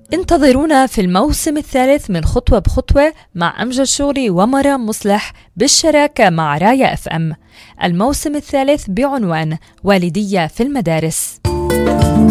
انتظرونا في الموسم الثالث من خطوة بخطوة مع أمجد شوري ومرام مصلح بالشراكة مع رايا FM. الموسم الثالث بعنوان والدية في المدارس.